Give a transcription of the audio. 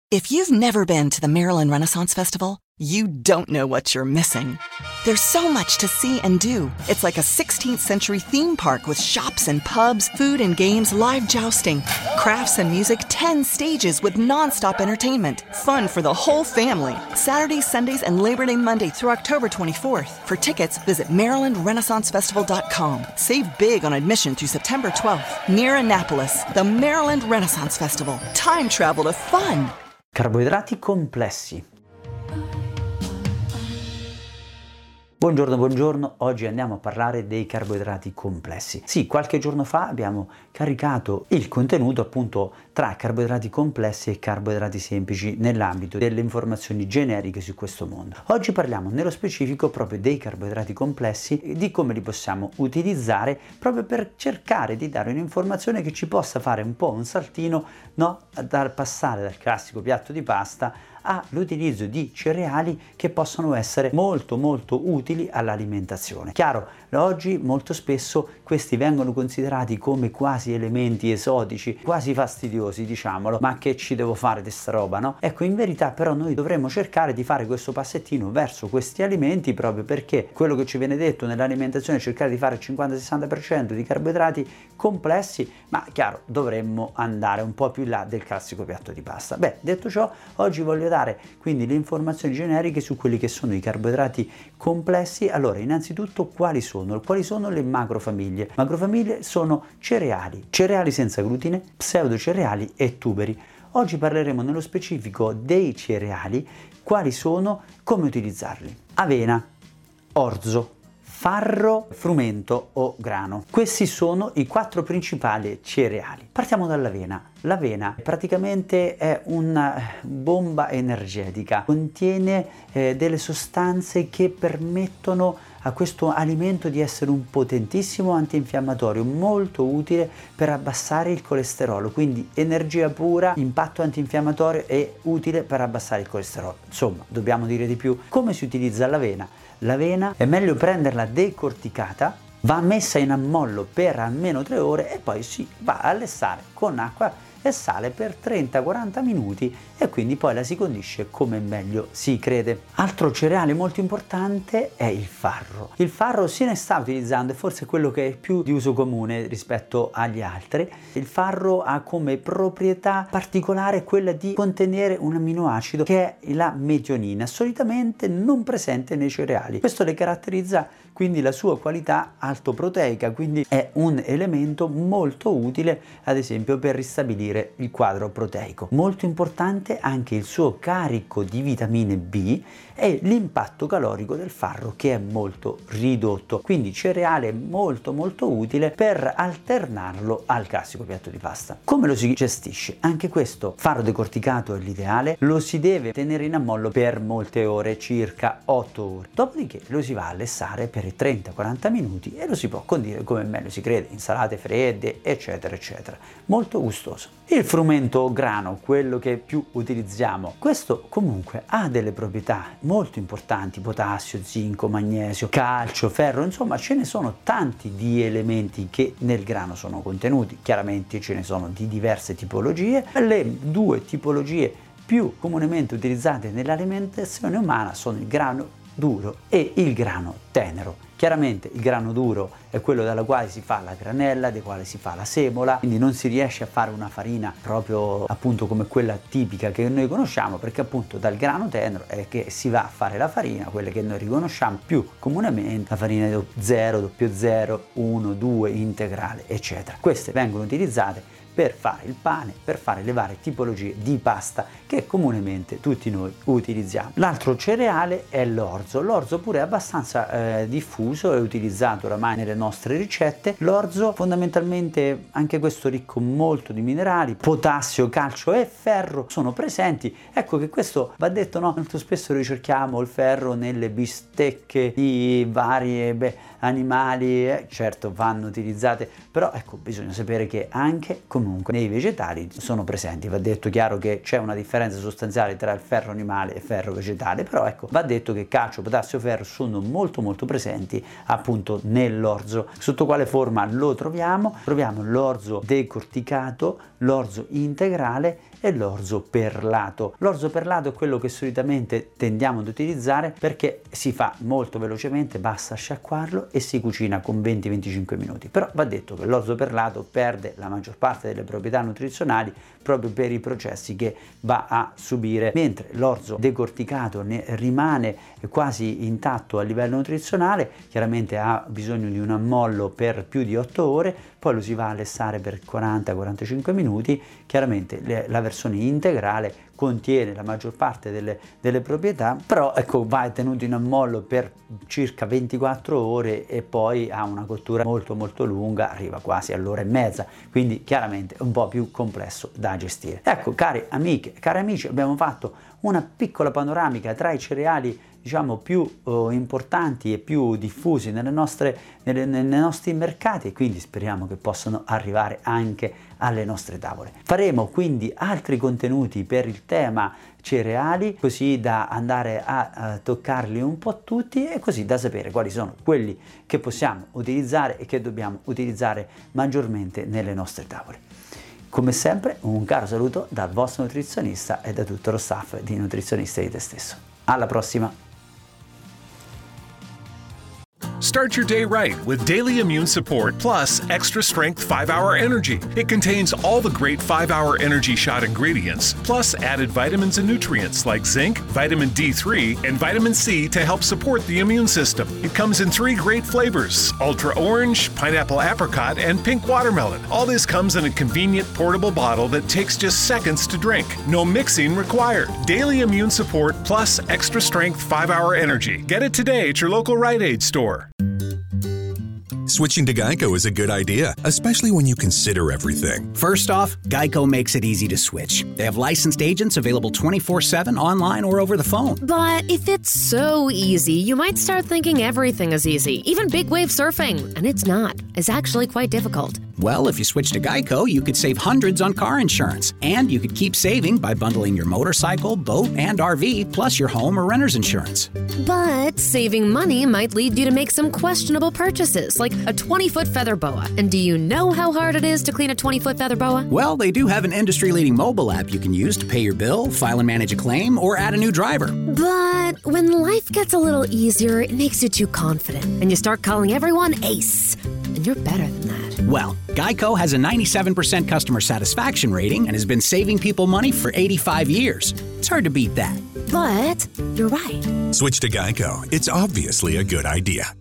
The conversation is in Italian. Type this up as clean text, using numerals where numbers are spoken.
If you've never been to the Maryland Renaissance Festival, you don't know what you're missing. There's so much to see and do. It's like a 16th century theme park with shops and pubs, food and games, live jousting, crafts and music, 10 stages with nonstop entertainment. Fun for the whole family. Saturdays, Sundays, and Labor Day Monday through October 24th. For tickets, visit MarylandRenaissanceFestival.com. Save big on admission through September 12th. Near Annapolis, the Maryland Renaissance Festival. Time travel to fun. Carboidrati complessi. Buongiorno, oggi andiamo a parlare dei carboidrati complessi. Sì, qualche giorno fa abbiamo caricato il contenuto appunto tra carboidrati complessi e carboidrati semplici nell'ambito delle informazioni generiche su questo mondo. Oggi parliamo nello specifico proprio dei carboidrati complessi e di come li possiamo utilizzare proprio per cercare di dare un'informazione che ci possa fare un po' un saltino, no? Dal passare dal classico piatto di pasta all'utilizzo di cereali che possono essere molto utili all'alimentazione. Chiaro, oggi molto spesso questi vengono considerati come quasi elementi esotici, quasi fastidiosi, diciamolo, ma che ci devo fare di sta roba, no? Ecco, in verità però noi dovremmo cercare di fare questo passettino verso questi alimenti proprio perché quello che ci viene detto nell'alimentazione è cercare di fare il 50-60% di carboidrati complessi, ma chiaro, dovremmo andare un po' più in là del classico piatto di pasta. Beh, detto ciò, oggi voglio dare quindi le informazioni generiche su quelli che sono i carboidrati complessi. Allora, innanzitutto quali sono le macrofamiglie? Macrofamiglie sono cereali senza glutine, pseudocereali e tuberi. Oggi parleremo nello specifico dei cereali, quali sono, come utilizzarli. Avena, orzo, farro, frumento o grano. Questi sono i 4 principali cereali. Partiamo dall'avena. L'avena praticamente è una bomba energetica, contiene delle sostanze che permettono a questo alimento di essere un potentissimo antinfiammatorio, molto utile per abbassare il colesterolo, quindi energia pura, impatto antinfiammatorio e utile per abbassare il colesterolo. Insomma, dobbiamo dire di più. Come si utilizza l'avena? L'avena è meglio prenderla decorticata, va messa in ammollo per almeno 3 ore e poi si va a lessare con acqua e sale per 30-40 minuti e quindi poi la si condisce come meglio si crede. Altro cereale molto importante è il farro. Il farro se ne sta utilizzando, è forse quello che è più di uso comune rispetto agli altri. Il farro ha come proprietà particolare quella di contenere un amminoacido che è la metionina, solitamente non presente nei cereali. Questo le caratterizza quindi la sua qualità altoproteica, quindi è un elemento molto utile ad esempio per ristabilire il quadro proteico. Molto importante anche il suo carico di vitamine B e l'impatto calorico del farro che è molto ridotto, quindi cereale molto utile per alternarlo al classico piatto di pasta. Come lo si gestisce? Anche questo, farro decorticato è l'ideale, lo si deve tenere in ammollo per molte ore, circa 8 ore, dopodiché lo si va a lessare per 30-40 minuti e lo si può condire come meglio si crede, insalate fredde eccetera. Molto gustoso. Il frumento grano, quello che più utilizziamo, questo comunque ha delle proprietà molto importanti: potassio, zinco, magnesio, calcio, ferro, insomma ce ne sono tanti di elementi che nel grano sono contenuti. Chiaramente ce ne sono di diverse tipologie. Le 2 tipologie più comunemente utilizzate nell'alimentazione umana sono il grano duro e il grano tenero. Chiaramente il grano duro è quello dalla quale si fa la granella, da quale si fa la semola, quindi non si riesce a fare una farina proprio appunto come quella tipica che noi conosciamo, perché appunto dal grano tenero è che si va a fare la farina, quelle che noi riconosciamo più comunemente, la farina 0, 00, 1, 2, integrale, eccetera. Queste vengono utilizzate per fare il pane, per fare le varie tipologie di pasta che comunemente tutti noi utilizziamo. L'altro cereale è l'orzo. L'orzo pure è abbastanza diffuso, è utilizzato oramai nelle nostre ricette. L'orzo fondamentalmente anche questo ricco molto di minerali, potassio, calcio e ferro sono presenti. Ecco che questo va detto, no? Molto spesso ricerchiamo il ferro nelle bistecche di varie animali, certo vanno utilizzate, però ecco bisogna sapere che anche comunque nei vegetali sono presenti. Va detto chiaro che c'è una differenza sostanziale tra il ferro animale e ferro vegetale, però ecco va detto che calcio, potassio, ferro sono molto presenti appunto nell'orzo. Sotto quale forma lo troviamo? Troviamo l'orzo decorticato, l'orzo integrale e l'orzo perlato. L'orzo perlato è quello che solitamente tendiamo ad utilizzare perché si fa molto velocemente, basta sciacquarlo e si cucina con 20-25 minuti. Però va detto che l'orzo perlato perde la maggior parte delle proprietà nutrizionali proprio per i processi che va a subire, mentre l'orzo decorticato ne rimane quasi intatto a livello nutrizionale. Chiaramente ha bisogno di un ammollo per più di 8 ore, poi lo si va a lessare per 40-45 minuti. Chiaramente la versione integrale contiene la maggior parte delle proprietà, però ecco, va tenuto in ammollo per circa 24 ore e poi ha una cottura molto molto lunga, arriva quasi all'ora e mezza, quindi chiaramente è un po' più complesso da gestire. Ecco, cari amiche e cari amici, abbiamo fatto una piccola panoramica tra i cereali diciamo più importanti e più diffusi nei nostri mercati, e quindi speriamo che possano arrivare anche alle nostre tavole. Faremo quindi altri contenuti per il tema cereali, così da andare a toccarli un po' tutti e così da sapere quali sono quelli che possiamo utilizzare e che dobbiamo utilizzare maggiormente nelle nostre tavole. Come sempre, un caro saluto dal vostro nutrizionista e da tutto lo staff di Nutrizionista di Te Stesso. Alla prossima! Start your day right with Daily Immune Support Plus Extra Strength 5-Hour Energy. It contains all the great 5-Hour Energy Shot ingredients, plus added vitamins and nutrients like zinc, vitamin D3, and vitamin C to help support the immune system. It comes in 3 great flavors: Ultra Orange, Pineapple Apricot, and Pink Watermelon. All this comes in a convenient portable bottle that takes just seconds to drink. No mixing required. Daily Immune Support Plus Extra Strength 5-Hour Energy. Get it today at your local Rite Aid store. Switching to Geico is a good idea, especially when you consider everything. First off, Geico makes it easy to switch. They have licensed agents available 24/7 online or over the phone. But if it's so easy, you might start thinking everything is easy, even big wave surfing. And it's not. It's actually quite difficult. Well, if you switch to Geico, you could save hundreds on car insurance. And you could keep saving by bundling your motorcycle, boat, and RV, plus your home or renter's insurance. But saving money might lead you to make some questionable purchases, like a 20-foot feather boa. And do you know how hard it is to clean a 20-foot feather boa? Well, they do have an industry-leading mobile app you can use to pay your bill, file and manage a claim, or add a new driver. But when life gets a little easier, it makes you too confident, and you start calling everyone Ace. And you're better than that. Well, Geico has a 97% customer satisfaction rating and has been saving people money for 85 years. It's hard to beat that. But you're right. Switch to Geico. It's obviously a good idea.